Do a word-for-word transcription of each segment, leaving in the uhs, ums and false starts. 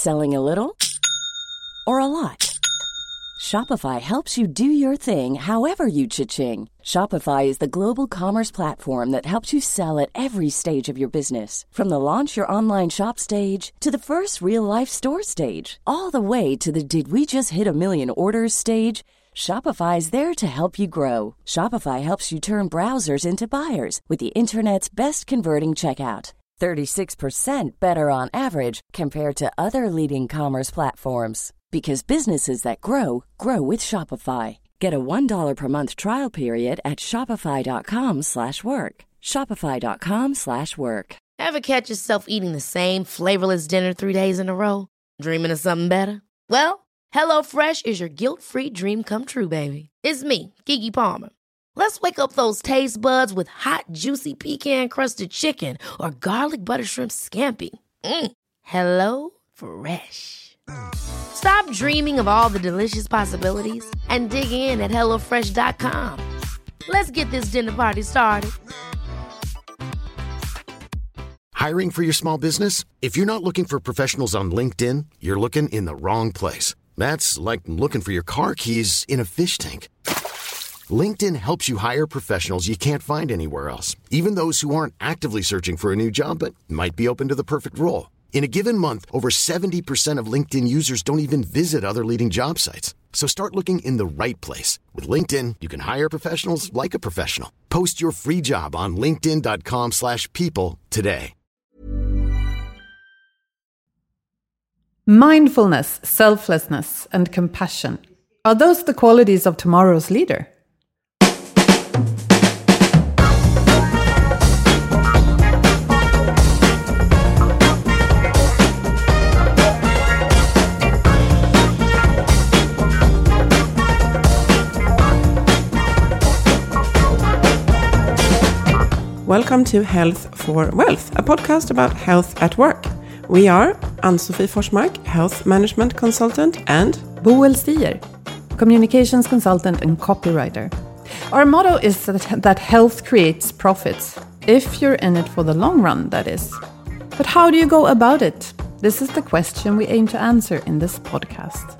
Selling a little or a lot? Shopify helps you do your thing however you cha-ching. Shopify is the global commerce platform that helps you sell at every stage of your business. From the launch your online shop stage to the first real-life store stage, all the way to the did we just hit a million orders stage. Shopify is there to help you grow. Shopify helps you turn browsers into buyers with the internet's best converting checkout. thirty-six percent better on average compared to other leading commerce platforms. Because businesses that grow, grow with Shopify. Get a one dollar per month trial period at shopify.com slash work. Shopify.com slash work. Ever catch yourself eating the same flavorless dinner three days in a row? Dreaming of something better? Well, HelloFresh is your guilt-free dream come true, baby. It's me, Keke Palmer. Let's wake up those taste buds with hot, juicy pecan-crusted chicken or garlic butter shrimp scampi. Mm. Hello Fresh. Stop dreaming of all the delicious possibilities and dig in at hello fresh dot com. Let's get this dinner party started. Hiring for your small business? If you're not looking for professionals on LinkedIn, you're looking in the wrong place. That's like looking for your car keys in a fish tank. LinkedIn helps you hire professionals you can't find anywhere else, even those who aren't actively searching for a new job but might be open to the perfect role. In a given month, over seventy percent of LinkedIn users don't even visit other leading job sites. So start looking in the right place. With LinkedIn, you can hire professionals like a professional. Post your free job on linkedin.com slash people today. Mindfulness, selflessness, and compassion. Are those the qualities of tomorrow's leader? Welcome to Health for Wealth, a podcast about health at work. We are Ann-Sofie Forsmark, Health Management Consultant, and Boel Stier, Communications Consultant and Copywriter. Our motto is that, that health creates profits, if you're in it for the long run, that is. But how do you go about it? This is the question we aim to answer in this podcast.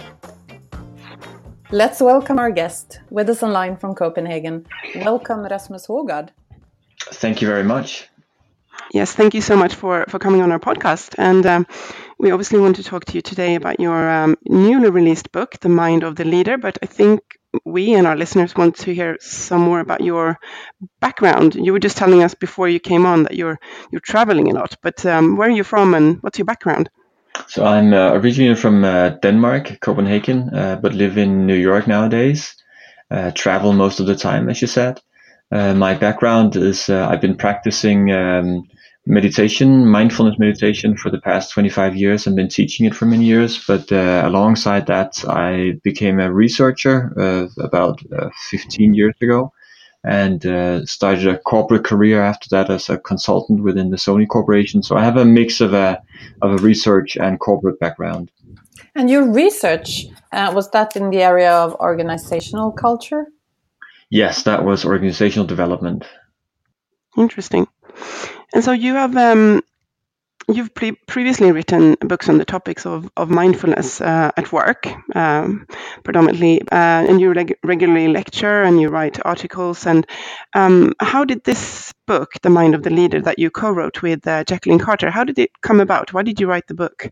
Let's welcome our guest with us online from Copenhagen. Welcome, Rasmus Hågard. Thank you very much. Yes, thank you so much for, for coming on our podcast. And um, we obviously want to talk to you today about your um, newly released book, The Mind of the Leader. But I think we and our listeners want to hear some more about your background. You were just telling us before you came on that you're you're traveling a lot. But um, where are you from and what's your background? So I'm uh, originally from uh, Denmark, Copenhagen, uh, but live in New York nowadays. Uh, travel most of the time, as you said. Uh, my background is uh, I've been practicing um, meditation, mindfulness meditation for the past twenty-five years and been teaching it for many years. But uh, alongside that, I became a researcher uh, about uh, fifteen years ago and uh, started a corporate career after that as a consultant within the Sony Corporation. So I have a mix of a, of a research and corporate background. And your research, uh, was that in the area of organizational culture? Yes, that was organizational development. Interesting. And so you have um, you've pre- previously written books on the topics of of mindfulness uh, at work, um, predominantly, uh, and you reg- regularly lecture and you write articles. And um, how did this book, The Mind of the Leader, that you co-wrote with uh, Jacqueline Carter, how did it come about? Why did you write the book?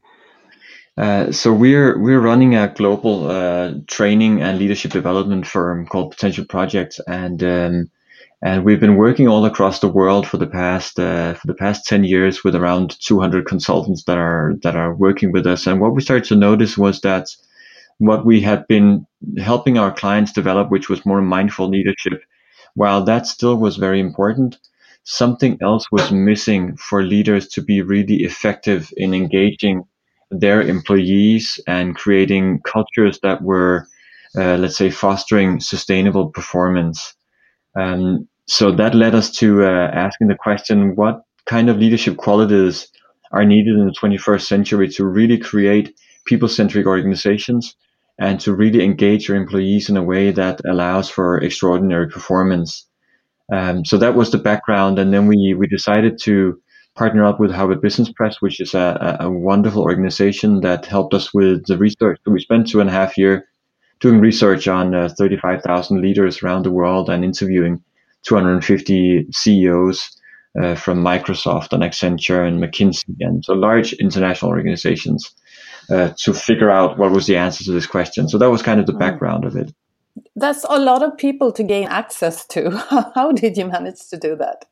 Uh, so we're we're running a global uh, training and leadership development firm called Potential Projects, and um, and we've been working all across the world for the past uh, for the past ten years with around two hundred consultants that are that are working with us. And what we started to notice was that what we had been helping our clients develop, which was more mindful leadership, while that still was very important, something else was missing for leaders to be really effective in engaging their employees and creating cultures that were, uh, let's say, fostering sustainable performance. Um, so that led us to uh, asking the question, what kind of leadership qualities are needed in the twenty-first century to really create people-centric organizations and to really engage your employees in a way that allows for extraordinary performance. Um, so that was the background. And then we, we decided to partner up with Harvard Business Press, which is a, a wonderful organization that helped us with the research. So we spent two and a half year doing research on uh, thirty-five thousand leaders around the world and interviewing two hundred fifty C E Os uh, from Microsoft and Accenture and McKinsey, and so large international organizations, uh, to figure out what was the answer to this question. So that was kind of the background of it. That's a lot of people to gain access to. How did you manage to do that?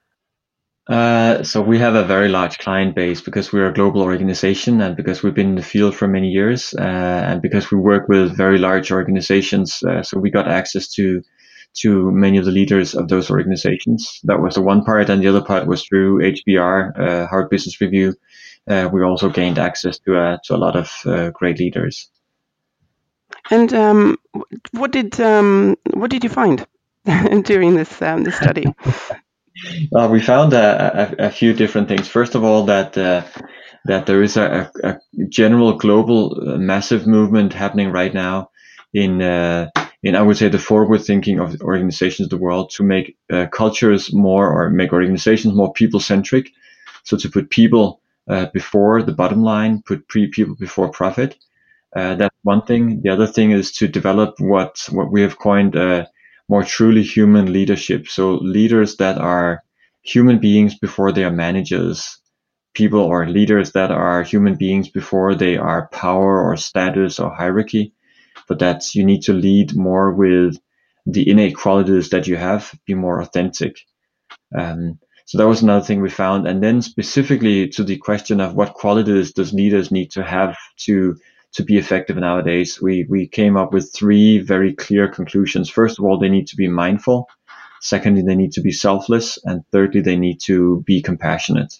Uh, so we have a very large client base because we're a global organization, and because we've been in the field for many years, uh, and because we work with very large organizations. Uh, so we got access to to many of the leaders of those organizations. That was the one part, and the other part was through H B R, uh, Harvard Business Review. Uh, we also gained access to uh, to a lot of uh, great leaders. And um, what did um, what did you find during this um, this study? Well, we found a, a, a few different things. First of all, that uh, that there is a, a general global uh, massive movement happening right now in uh, in I would say the forward thinking of organizations of the world to make uh, cultures more, or make organizations more people centric. So to put people uh, before the bottom line, put pre people before profit. Uh, that's one thing. The other thing is to develop what what we have coined uh, more truly human leadership. So leaders that are human beings before they are managers, people or leaders that are human beings before they are power or status or hierarchy. But that you need to lead more with the innate qualities that you have, be more authentic. Um, so that was another thing we found. And then specifically to the question of what qualities does leaders need to have to to be effective nowadays, we, we came up with three very clear conclusions. First of all, they need to be mindful. Secondly, they need to be selfless. And thirdly, they need to be compassionate.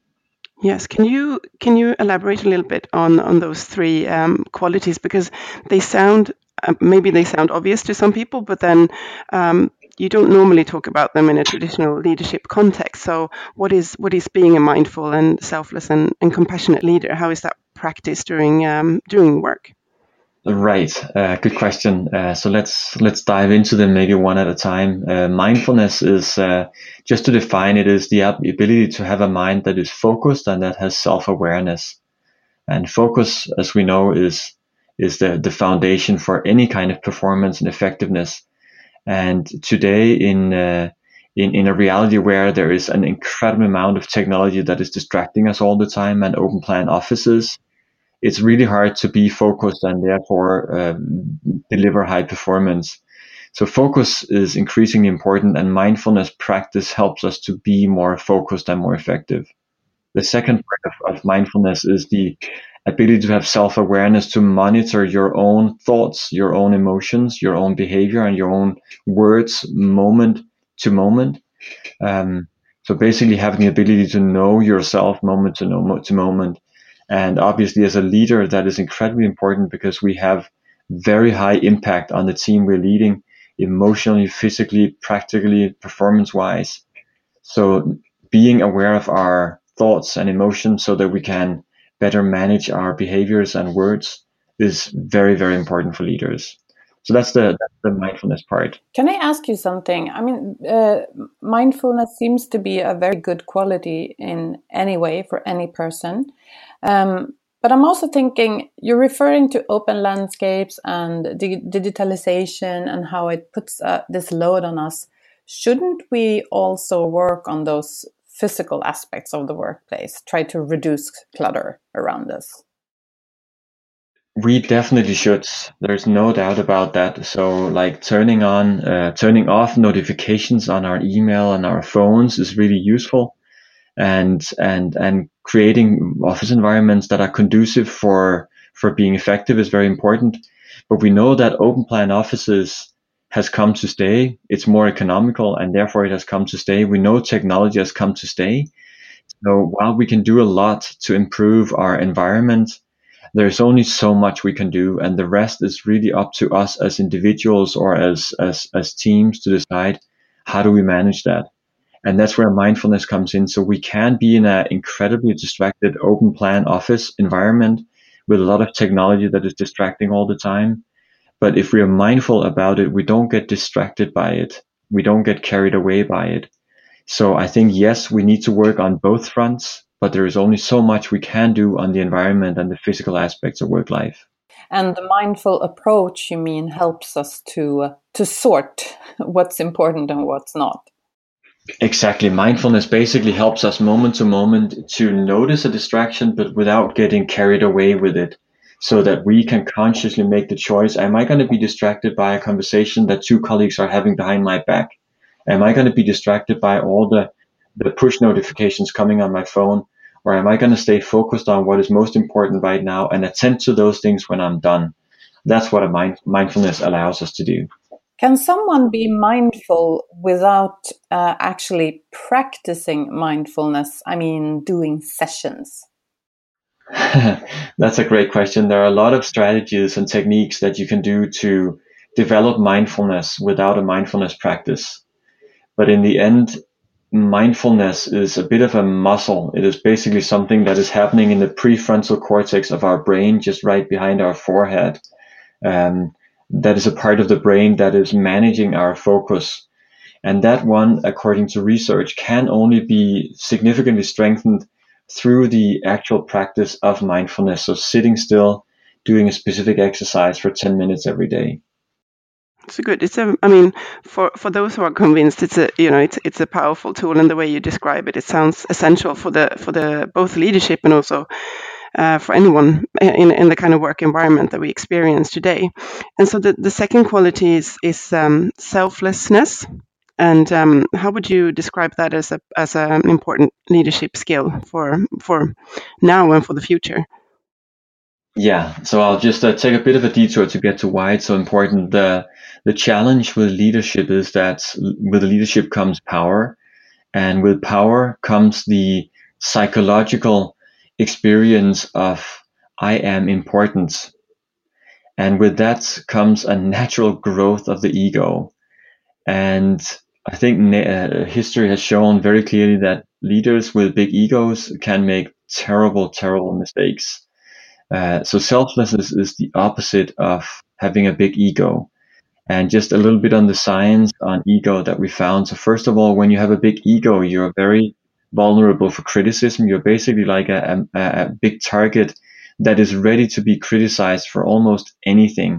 Yes, can you can you elaborate a little bit on on those three um, qualities, because they sound uh, maybe they sound obvious to some people, but then um, you don't normally talk about them in a traditional leadership context. So, what is what is being a mindful and selfless and, and compassionate leader? How is that practiced during um, during work? Right. Uh, good question. Uh, so let's let's dive into them maybe one at a time. Uh, mindfulness is, uh, just to define it, is the ability to have a mind that is focused and that has self-awareness. And focus, as we know, is is the, the foundation for any kind of performance and effectiveness. And today, in uh, in in a reality where there is an incredible amount of technology that is distracting us all the time, and open plan offices, it's really hard to be focused and therefore um, deliver high performance. So focus is increasingly important, and mindfulness practice helps us to be more focused and more effective. The second part of, of mindfulness is the ability to have self-awareness, to monitor your own thoughts, your own emotions, your own behavior, and your own words moment to moment. Um, so basically having the ability to know yourself moment to, no, to moment. And obviously, as a leader, that is incredibly important, because we have very high impact on the team we're leading, emotionally, physically, practically, performance-wise. So being aware of our thoughts and emotions so that we can better manage our behaviors and words is very, very important for leaders. So that's the that's the mindfulness part. Can I ask you something? I mean, uh, mindfulness seems to be a very good quality in any way for any person. Um, but I'm also thinking, you're referring to open landscapes and di- digitalization and how it puts uh, this load on us. Shouldn't we also work on those physical aspects of the workplace, try to reduce clutter around us? We definitely should. There's no doubt about that. So like turning on, uh, turning off notifications on our email and our phones is really useful. And, and, and creating office environments that are conducive for, for being effective is very important. But we know that open plan offices has come to stay. It's more economical, and therefore it has come to stay. We know technology has come to stay. So while we can do a lot to improve our environment, there's only so much we can do, and the rest is really up to us as individuals or as, as, as teams to decide how do we manage that. And that's where mindfulness comes in. So we can be in an incredibly distracted open plan office environment with a lot of technology that is distracting all the time. But if we are mindful about it, we don't get distracted by it. We don't get carried away by it. So I think, yes, we need to work on both fronts, but there is only so much we can do on the environment and the physical aspects of work life. And the mindful approach, you mean, helps us to uh, to sort what's important and what's not. Exactly. Mindfulness basically helps us moment to moment to notice a distraction, but without getting carried away with it, so that we can consciously make the choice. Am I going to be distracted by a conversation that two colleagues are having behind my back? Am I going to be distracted by all the, the push notifications coming on my phone? Or am I going to stay focused on what is most important right now and attend to those things when I'm done? That's what a mind, mindfulness allows us to do. Can someone be mindful without uh, actually practicing mindfulness? I mean, doing sessions? That's a great question. There are a lot of strategies and techniques that you can do to develop mindfulness without a mindfulness practice. But in the end, mindfulness is a bit of a muscle. It is basically something that is happening in the prefrontal cortex of our brain, just right behind our forehead. Um, that is a part of the brain that is managing our focus. And that one, according to research, can only be significantly strengthened through the actual practice of mindfulness. So sitting still, doing a specific exercise for ten minutes every day. It's good. It's a. I mean, for, for those who are convinced, it's a you know it's it's a powerful tool, and the way you describe it, it sounds essential for the for the both leadership and also uh, for anyone in in the kind of work environment that we experience today. And so the, the second quality is is um, selflessness. And um, how would you describe that as a as an important leadership skill for for now and for the future? Yeah, so I'll just uh, take a bit of a detour to get to why it's so important. The the challenge with leadership is that with leadership comes power, and with power comes the psychological experience of I am important. And with that comes a natural growth of the ego. And I think uh, history has shown very clearly that leaders with big egos can make terrible, terrible mistakes. Uh, so selflessness is the opposite of having a big ego. And just a little bit on the science on ego that we found. So first of all, when you have a big ego, you're very vulnerable for criticism. You're basically like a, a, a big target that is ready to be criticized for almost anything.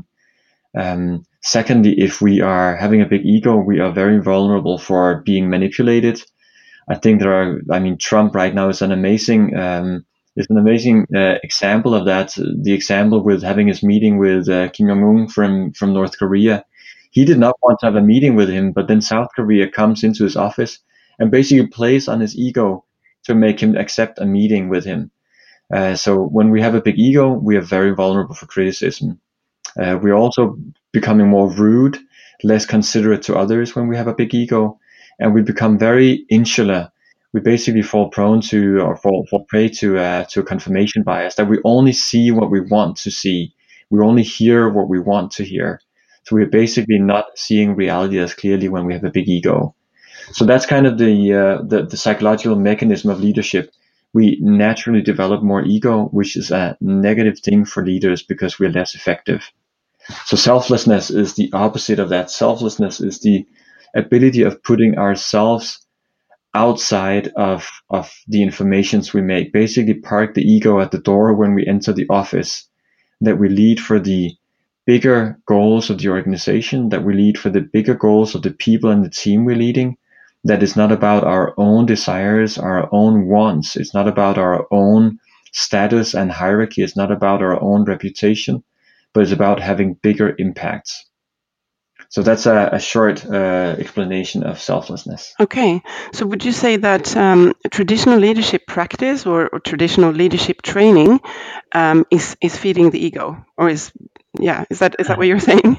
Um, secondly, if we are having a big ego, we are very vulnerable for being manipulated. I think there are, I mean, Trump right now is an amazing, um, is an amazing uh, example of that. The example with having his meeting with uh, Kim Jong-un from, from North Korea. He did not want to have a meeting with him, but then South Korea comes into his office and basically plays on his ego to make him accept a meeting with him. Uh, so when we have a big ego, we are very vulnerable for criticism. Uh, we're also becoming more rude, less considerate to others when we have a big ego, and we become very insular. We basically fall prone to, or fall, fall prey to, uh, to a confirmation bias, that we only see what we want to see. We only hear what we want to hear. So we're basically not seeing reality as clearly when we have a big ego. So that's kind of the, uh, the, the psychological mechanism of leadership. We naturally develop more ego, which is a negative thing for leaders because we're less effective. So selflessness is the opposite of that. Selflessness is the ability of putting ourselves outside of, of the informations we make. Basically park the ego at the door when we enter the office, that we lead for the bigger goals of the organization, that we lead for the bigger goals of the people and the team we're leading. That is not about our own desires, our own wants. It's not about our own status and hierarchy. It's not about our own reputation, but it's about having bigger impacts. So that's a, a short uh, explanation of selflessness. Okay. So would you say that um, traditional leadership practice or, or traditional leadership training um, is, is feeding the ego? Or is, yeah, is that is that what you're saying?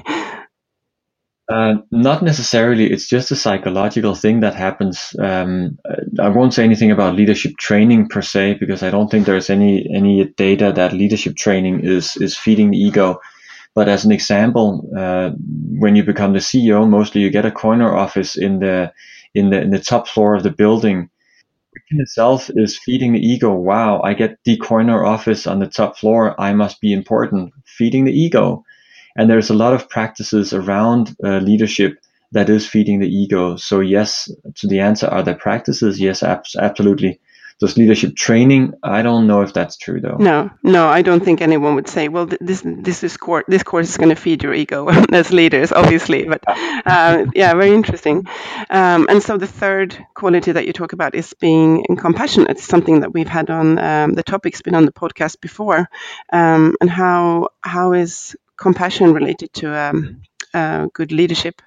Uh, not necessarily. It's just a psychological thing that happens. Um, I won't say anything about leadership training per se, because I don't think there's any any data that leadership training is is feeding the ego. But as an example, uh, when you become the C E O, mostly you get a corner office in the in the in the top floor of the building. Which in itself is feeding the ego. Wow, I get the corner office on the top floor. I must be important. Feeding the ego. And there's a lot of practices around uh, leadership that is feeding the ego. So yes, to the answer, are there practices? Yes, ab- absolutely. Does leadership training? I don't know if that's true though. No, no, I don't think anyone would say, well, th- this this is course this course is going to feed your ego as leaders, obviously. But uh, yeah, very interesting. Um, and so the third quality that you talk about is being compassionate. It's something that we've had on um, the topic's been on the podcast before. Um, and how how is compassion related to um, uh, good leadership?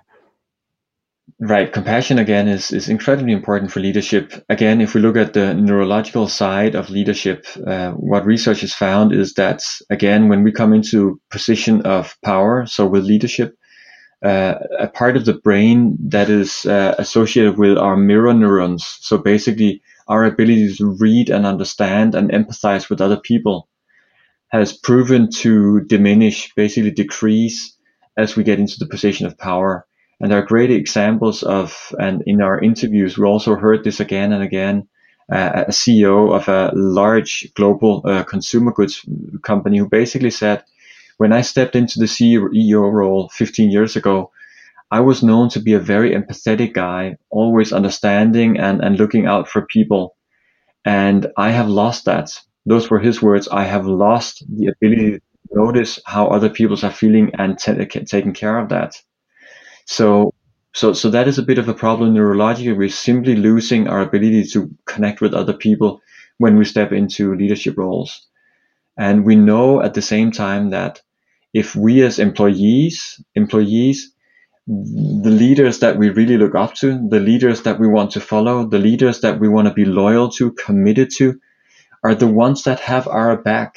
Right. Compassion, again, is, is incredibly important for leadership. Again, if we look at the neurological side of leadership, uh, what research has found is that, again, when we come into position of power, so with leadership, uh, a part of the brain that is uh, associated with our mirror neurons, so basically our ability to read and understand and empathize with other people, has proven to diminish, basically decrease, as we get into the position of power. And there are great examples of, and in our interviews, we also heard this again and again, uh, a C E O of a large global uh, consumer goods company who basically said, when I stepped into the C E O role fifteen years ago, I was known to be a very empathetic guy, always understanding and, and looking out for people. And I have lost that. Those were his words. I have lost the ability to notice how other people are feeling and t- taking care of that. So, so, so that is a bit of a problem neurologically. We're simply losing our ability to connect with other people when we step into leadership roles. And we know at the same time that if we as employees, employees, the leaders that we really look up to, the leaders that we want to follow, the leaders that we want to be loyal to, committed to, are the ones that have our back.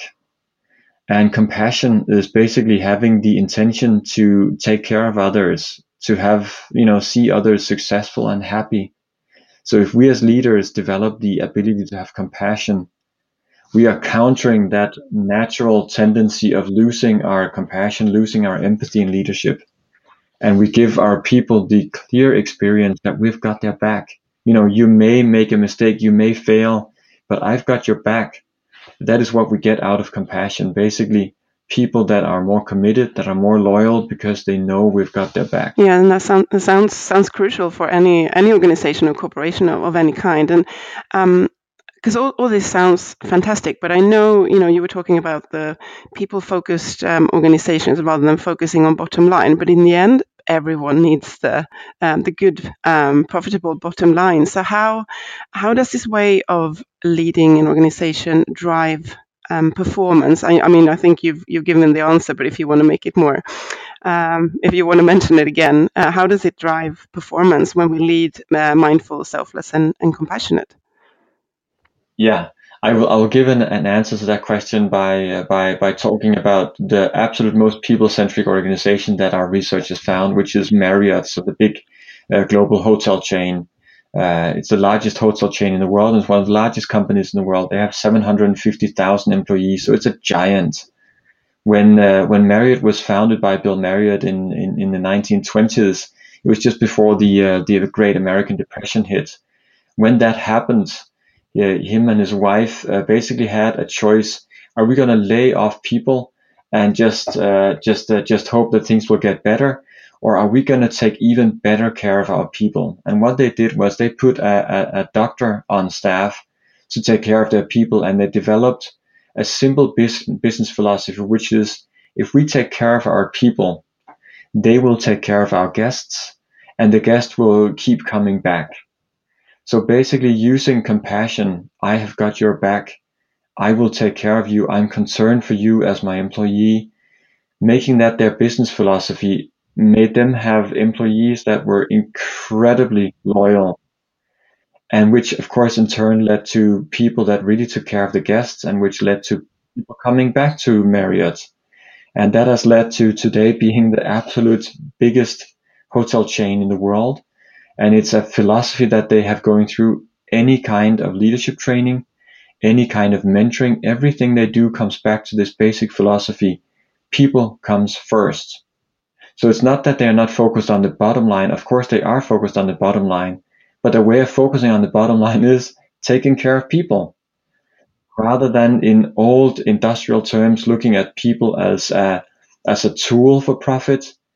And compassion is basically having the intention to take care of others, to have, you know, see others successful and happy. So if we as leaders develop the ability to have compassion, we are countering that natural tendency of losing our compassion, losing our empathy in leadership. And we give our people the clear experience that we've got their back. You know, you may make a mistake, you may fail, but I've got your back. That is what we get out of compassion. Basically, people that are more committed, that are more loyal because they know we've got their back. Yeah, and that, sound, that sounds sounds crucial for any any organization or corporation of, of any kind. And um, because all, all this sounds fantastic, but I know, you know, you were talking about the people-focused um, organizations rather than focusing on bottom line. But in the end, everyone needs the um, the good, um, profitable bottom line. So how how does this way of leading an organization drive um, performance? I, I mean, I think you've you've given the answer, but if you want to make it more, um, if you want to mention it again, uh, how does it drive performance when we lead uh, mindful, selfless, and, and compassionate? Yeah, I will. I will give an, an answer to that question by uh, by by talking about the absolute most people-centric organization that our research has found, which is Marriott, so the big uh, global hotel chain. Uh, it's the largest hotel chain in the world, and it's one of the largest companies in the world. They have seven hundred fifty thousand employees, so it's a giant. When uh, when Marriott was founded by Bill Marriott in in, in the nineteen twenties, it was just before the uh, the Great American Depression hit. When that happened, yeah, him and his wife uh, basically had a choice. Are we going to lay off people and just uh, just uh, just hope that things will get better? Or are we going to take even better care of our people? And what they did was they put a, a, a doctor on staff to take care of their people. And they developed a simple bis- business philosophy, which is if we take care of our people, they will take care of our guests and the guests will keep coming back. So basically using compassion, I have got your back. I will take care of you. I'm concerned for you as my employee. Making that their business philosophy made them have employees that were incredibly loyal. And which of course in turn led to people that really took care of the guests and which led to people coming back to Marriott. And that has led to today being the absolute biggest hotel chain in the world. And it's a philosophy that they have going through any kind of leadership training, any kind of mentoring. Everything they do comes back to this basic philosophy. People comes first. So it's not that they're not focused on the bottom line. Of course, they are focused on the bottom line. But their way of focusing on the bottom line is taking care of people. Rather than in old industrial terms, looking at people as a, as a tool for profit,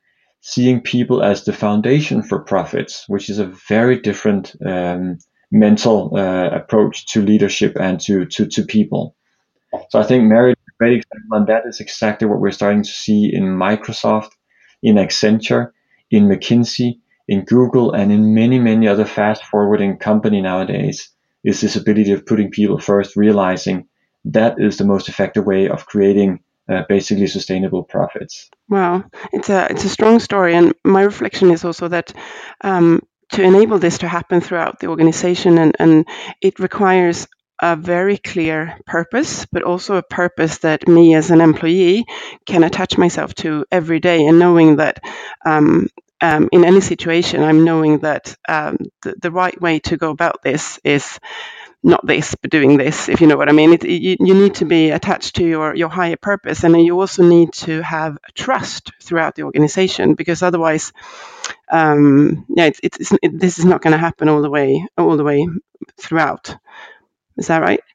seeing people as the foundation for profits, which is a very different um, mental uh, approach to leadership and to, to, to people. So I think Mary is a great example, and that is exactly what we're starting to see in Microsoft, in Accenture, in McKinsey, in Google, and in many, many other fast-forwarding company nowadays, is this ability of putting people first, realizing that is the most effective way of creating uh, basically sustainable profits. Wow, it's a it's a strong story, and my reflection is also that um, to enable this to happen throughout the organization, and, and it requires a very clear purpose, but also a purpose that me as an employee can attach myself to every day, and knowing that um, um, in any situation, I'm knowing that um, the, the right way to go about this is not this, but doing this, if you know what I mean. It, you, you need to be attached to your, your higher purpose, and you also need to have trust throughout the organization, because otherwise, um, yeah, it's, it's, it, this is not going to happen all the way, all the way throughout. Is that right?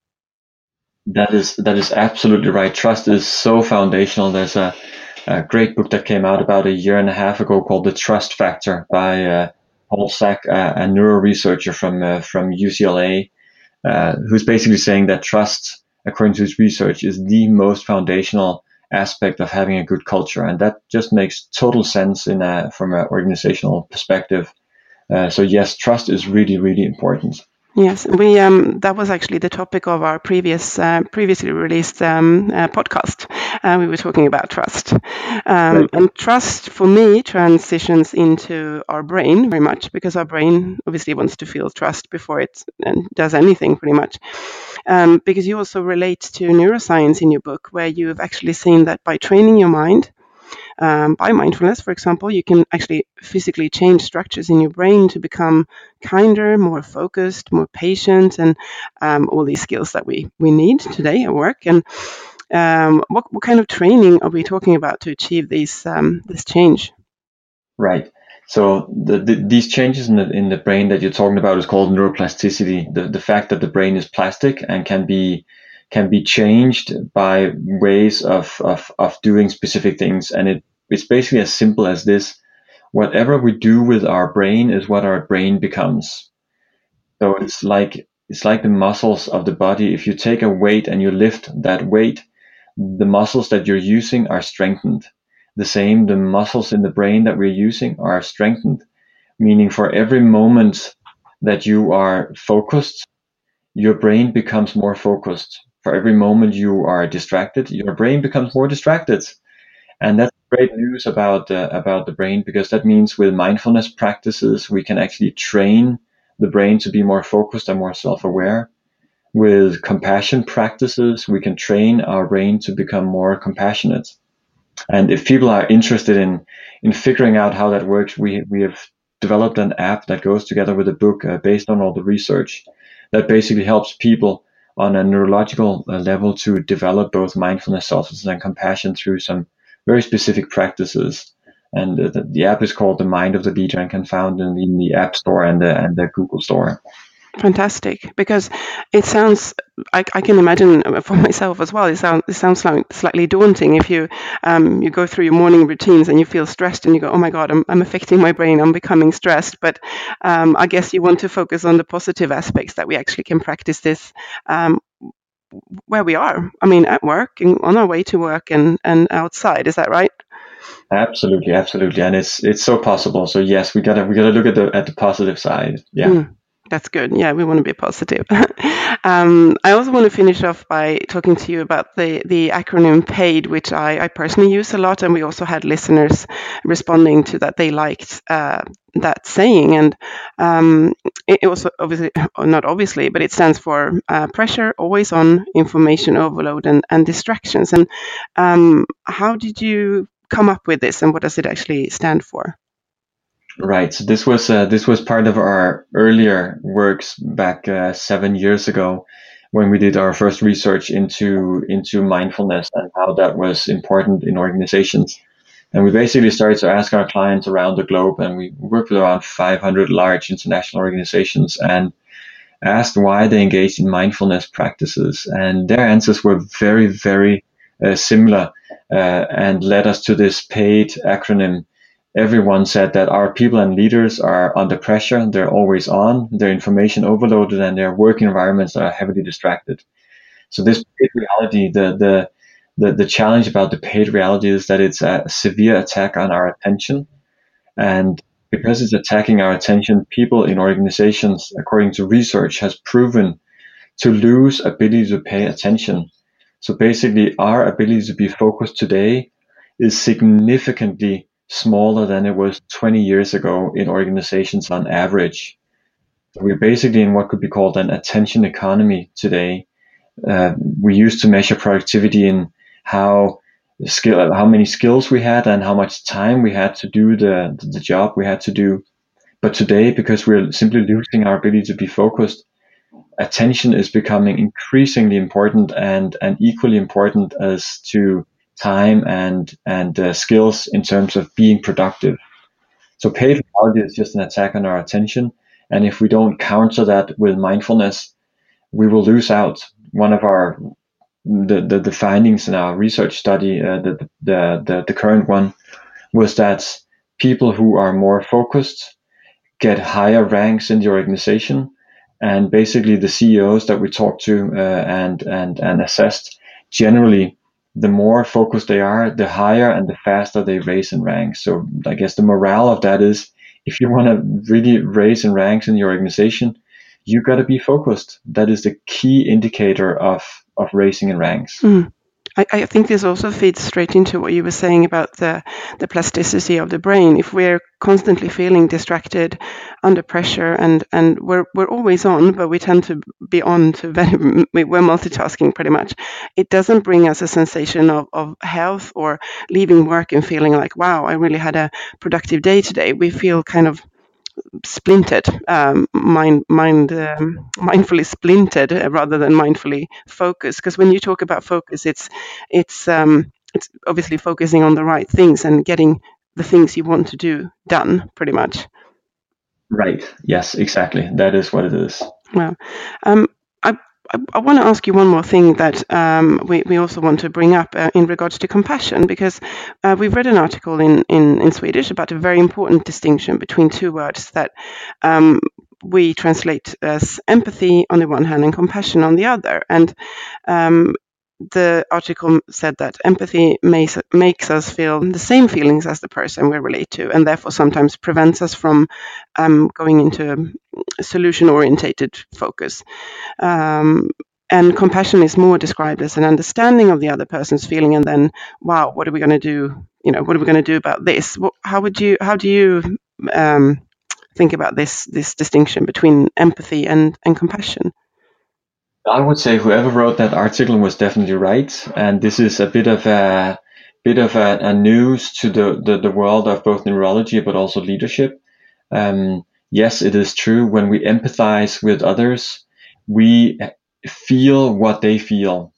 That is that is absolutely right. Trust is so foundational. There's a, a great book that came out about a year and a half ago called The Trust Factor by uh, Paul Sack, uh, a neuro researcher from uh, from U C L A, uh, who's basically saying that trust, according to his research, is the most foundational aspect of having a good culture, and that just makes total sense in a, from an organizational perspective. Uh, so yes, trust is really, really important. Yes, we um, that was actually the topic of our previous uh, previously released um, uh, podcast. Uh, we were talking about trust, um, Right. and trust for me transitions into our brain very much, because our brain obviously wants to feel trust before it uh, does anything, pretty much. Um, because you also relate to neuroscience in your book, where you've actually seen that by training your mind. Um, by mindfulness, for example, you can actually physically change structures in your brain to become kinder, more focused, more patient, and um, all these skills that we, we need today at work. And um, what, what kind of training are we talking about to achieve these um, this change? Right. So the, the, these changes in the in the brain that you're talking about is called neuroplasticity. The the fact that the brain is plastic and can be can be changed by ways of of, of doing specific things, and it it's basically as simple as this: whatever we do with our brain is what our brain becomes. So it's like it's like the muscles of the body. If you take a weight and you lift that weight, the muscles that you're using are strengthened. The same, the muscles in the brain that we're using are strengthened, meaning for every moment that you are focused, your brain becomes more focused. For every moment you are distracted, your brain becomes more distracted. And that's great news about uh, about the brain, because that means with mindfulness practices, we can actually train the brain to be more focused and more self-aware. With compassion practices, we can train our brain to become more compassionate. And if people are interested in in figuring out how that works, we we have developed an app that goes together with a book uh, based on all the research that basically helps people on a neurological uh, level to develop both mindfulness, selflessness, and compassion through some very specific practices. And uh, the, the app is called The Mind of the Leader and can be found in, in the App Store and the and the Google Store. Fantastic, because it sounds, I, I can imagine for myself as well, it sounds, it sounds like slightly daunting if you um, you go through your morning routines and you feel stressed and you go, oh my God, I'm, I'm affecting my brain, I'm becoming stressed. But um, I guess you want to focus on the positive aspects that we actually can practice this um, where we are. I mean, at work, and on our way to work and, and outside. Is that right? Absolutely, absolutely, and it's it's so possible. So yes, we gotta we gotta look at the at the positive side. Yeah. Mm. That's good. Yeah, we want to be positive. um, I also want to finish off by talking to you about the, the acronym PAID, which I, I personally use a lot, and we also had listeners responding to that. They liked uh, that saying, and um, it, it was obviously, not obviously, but it stands for uh, pressure, always on, information overload, and, and distractions. And um, how did you come up with this, and what does it actually stand for? Right. So this was uh, this was part of our earlier works back uh, seven years ago, when we did our first research into into mindfulness and how that was important in organizations. And we basically started to ask our clients around the globe, and we worked with around five hundred large international organizations, and asked why they engaged in mindfulness practices. And their answers were very, very uh, similar, uh, and led us to this PAID acronym, everyone said that our people and leaders are under pressure. They're always on, they're information overloaded, and they're working environments that are heavily distracted. So this paid reality, the, the, the, the challenge about the paid reality is that it's a severe attack on our attention. And because it's attacking our attention, people in organizations, according to research, has proven to lose ability to pay attention. So basically, our ability to be focused today is significantly smaller than it was twenty years ago in organizations on average. So we're basically in what could be called an attention economy today. Uh, we used to measure productivity in how skill, how many skills we had and how much time we had to do the, the job we had to do. But today, because we're simply losing our ability to be focused, attention is becoming increasingly important and, and equally important as to time and, and uh, skills in terms of being productive. So paid reality is just an attack on our attention. And if we don't counter that with mindfulness, we will lose out. One of our the, the, the findings in our research study, uh, the, the, the, the current one, was that people who are more focused get higher ranks in the organization. And basically the C E Os that we talked to uh, and, and, and assessed, generally, the more focused they are, the higher and the faster they raise in ranks. So I guess the morale of that is, if you want to really raise in ranks in your organization, you got to be focused. That is the key indicator of, of raising in ranks. Mm. I, I think this also feeds straight into what you were saying about the, the plasticity of the brain. If we're constantly feeling distracted, under pressure, and, and we're we're always on, but we tend to be on to very, we're multitasking pretty much. It doesn't bring us a sensation of, of health or leaving work and feeling like, wow, I really had a productive day today. We feel kind of splintered, um, mind, mind, um, mindfully splintered uh, rather than mindfully focused. Because when you talk about focus, it's it's um, it's obviously focusing on the right things and getting the things you want to do done, pretty much. Right. Yes, exactly. That is what it is. Well, um, I I, I want to ask you one more thing that um, we, we also want to bring up uh, in regards to compassion, because uh, we've read an article in, in, in Swedish about a very important distinction between two words that um, we translate as empathy on the one hand and compassion on the other. And um, the article said that empathy makes, makes us feel the same feelings as the person we relate to, and therefore sometimes prevents us from um, going into a solution-orientated focus. Um, and compassion is more described as an understanding of the other person's feeling, and then, wow, what are we going to do? You know, what are we going to do about this? What, how would you? How do you um, think about this this distinction between empathy and and compassion? I would say whoever wrote that article was definitely right, and this is a bit of a bit of a, a news to the, the, the world of both neurology but also leadership. Um, yes, it is true. When we empathize with others, we feel what they feel.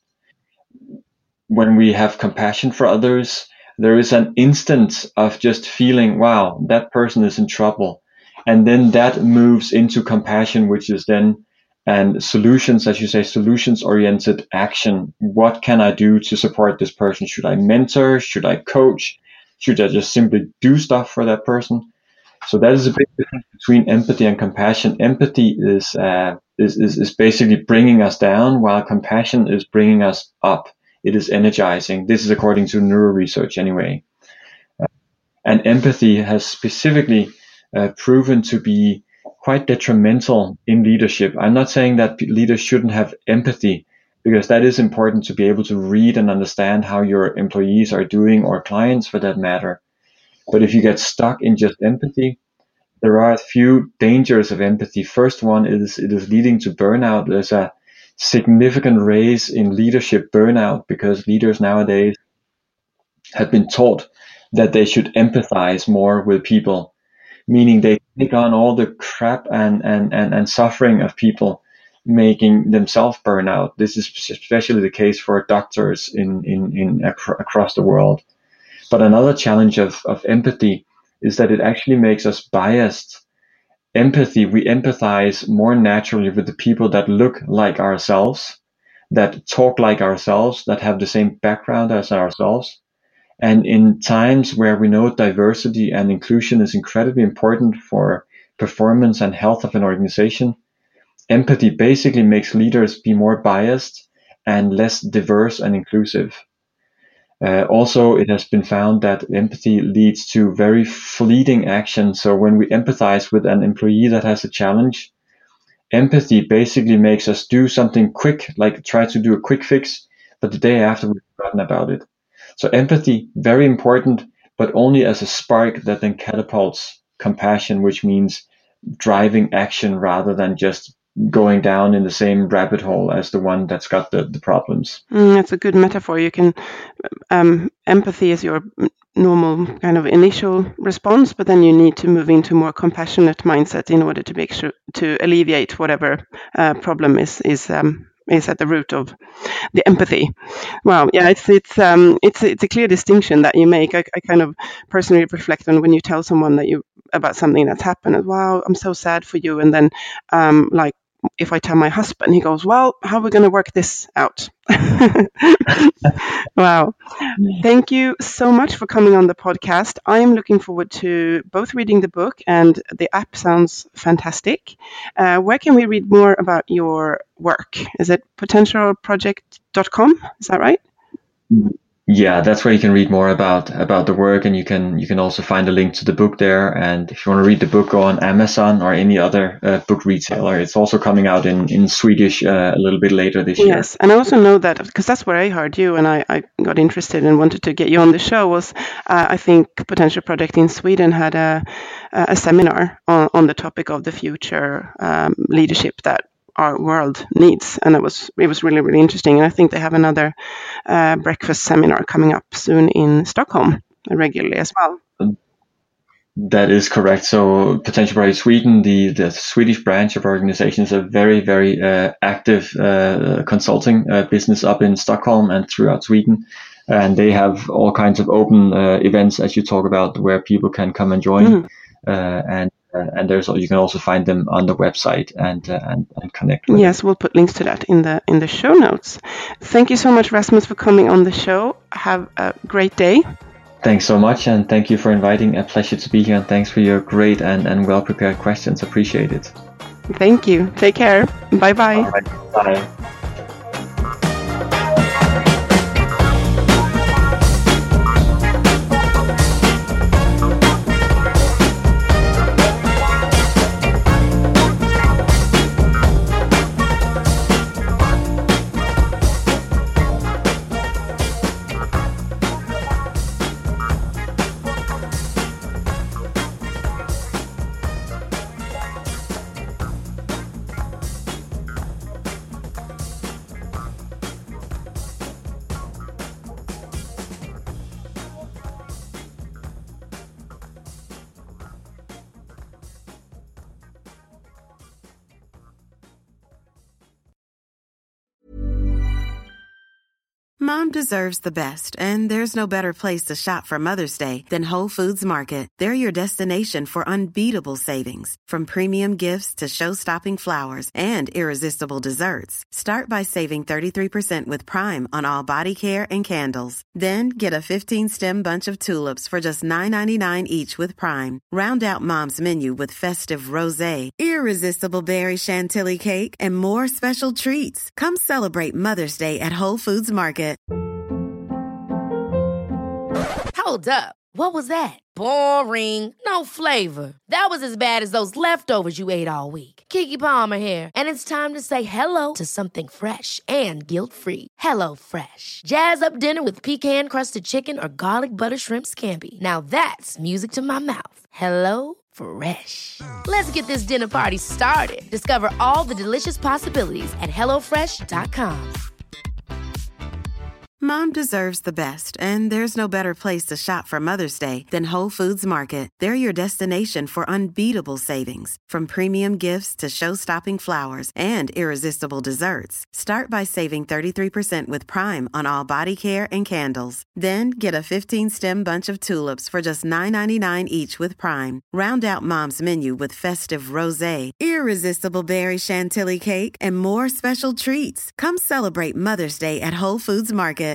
When we have compassion for others, there is an instant of just feeling, wow, that person is in trouble, and then that moves into compassion, which is then and solutions, as you say, solutions-oriented action. What can I do to support this person? Should I mentor? Should I coach? Should I just simply do stuff for that person? So that is a big difference between empathy and compassion. Empathy is, uh, is, is, is basically bringing us down, while compassion is bringing us up. It is energizing. This is according to neuro research anyway. Uh, and empathy has specifically uh, proven to be quite detrimental in leadership. I'm not saying that leaders shouldn't have empathy, because that is important to be able to read and understand how your employees are doing, or clients for that matter. But if you get stuck in just empathy, there are a few dangers of empathy. First one is it is leading to burnout. There's a significant raise in leadership burnout because leaders nowadays have been taught that they should empathize more with people, meaning they take on all the crap and, and, and, and suffering of people, making themselves burn out. This is especially the case for doctors in, in, in ac- across the world. But another challenge of, of empathy is that it actually makes us biased. Empathy, we empathize more naturally with the people that look like ourselves, that talk like ourselves, that have the same background as ourselves. And in times where we know diversity and inclusion is incredibly important for performance and health of an organization, empathy basically makes leaders be more biased and less diverse and inclusive. Uh, also, it has been found that empathy leads to very fleeting action. So when we empathize with an employee that has a challenge, empathy basically makes us do something quick, like try to do a quick fix, but the day after we've forgotten about it. So empathy, very important, but only as a spark that then catapults compassion, which means driving action rather than just going down in the same rabbit hole as the one that's got the, the problems. Mm, that's a good metaphor. You can, um, empathy is your normal kind of initial response, but then you need to move into more compassionate mindset in order to make sure to alleviate whatever uh, problem is is um, is at the root of the empathy. Wow, yeah, it's it's um it's it's a clear distinction that you make. I, I kind of personally reflect on when you tell someone that you about something that's happened. Wow, I'm so sad for you, and then um like. If I tell my husband, he goes, well, how are we going to work this out? Wow. Thank you so much for coming on the podcast. I am looking forward to both reading the book, and the app sounds fantastic. Uh, where can we read more about your work? Is it potential project dot com? Is that right? Yeah, that's where you can read more about about the work, and you can you can also find a link to the book there. And if you want to read the book, go on Amazon or any other uh, book retailer. It's also coming out in in Swedish uh, a little bit later this yes. year. Yes, and I also know that because that's where I heard you, and I, I got interested and wanted to get you on the show. Was uh, I think Potential Project in Sweden had a a seminar on, on the topic of the future um, leadership that our world needs, and it was it was really really interesting. And I think they have another uh, breakfast seminar coming up soon in Stockholm regularly as well. That is correct. So Potential Project Sweden, the the Swedish branch of our organization, is a very very uh, active uh, consulting uh, business up in Stockholm and throughout Sweden, and they have all kinds of open uh, events, as you talk about, where people can come and join, mm. uh, and. Uh, and there's you can also find them on the website and uh, and, and connect with yes them. We'll put links to that in the in the show notes. Thank you so much, Rasmus, for coming on the show. Have a great day. Thanks so much, and thank you for inviting. A pleasure to be here, and thanks for your great and, and well prepared questions. Appreciate it. Thank you. Take care. Bye bye. All right. Bye. Mom deserves the best, and there's no better place to shop for Mother's Day than Whole Foods Market. They're your destination for unbeatable savings, from premium gifts to show-stopping flowers and irresistible desserts. Start by saving thirty-three percent with Prime on all body care and candles. Then get a fifteen-stem bunch of tulips for just nine ninety-nine each with Prime. Round out Mom's menu with festive rosé, irresistible berry chantilly cake, and more special treats. Come celebrate Mother's Day at Whole Foods Market. Hold up. What was that? Boring. No flavor. That was as bad as those leftovers you ate all week. Keke Palmer here, and it's time to say hello to something fresh and guilt-free. Hello Fresh. Jazz up dinner with pecan-crusted chicken or garlic butter shrimp scampi. Now that's music to my mouth. Hello Fresh. Let's get this dinner party started. Discover all the delicious possibilities at hello fresh dot com. Mom deserves the best, and there's no better place to shop for Mother's Day than Whole Foods Market. They're your destination for unbeatable savings, from premium gifts to show-stopping flowers and irresistible desserts. Start by saving thirty-three percent with Prime on all body care and candles. Then get a fifteen-stem bunch of tulips for just nine ninety-nine each with Prime. Round out Mom's menu with festive rosé, irresistible berry chantilly cake, and more special treats. Come celebrate Mother's Day at Whole Foods Market.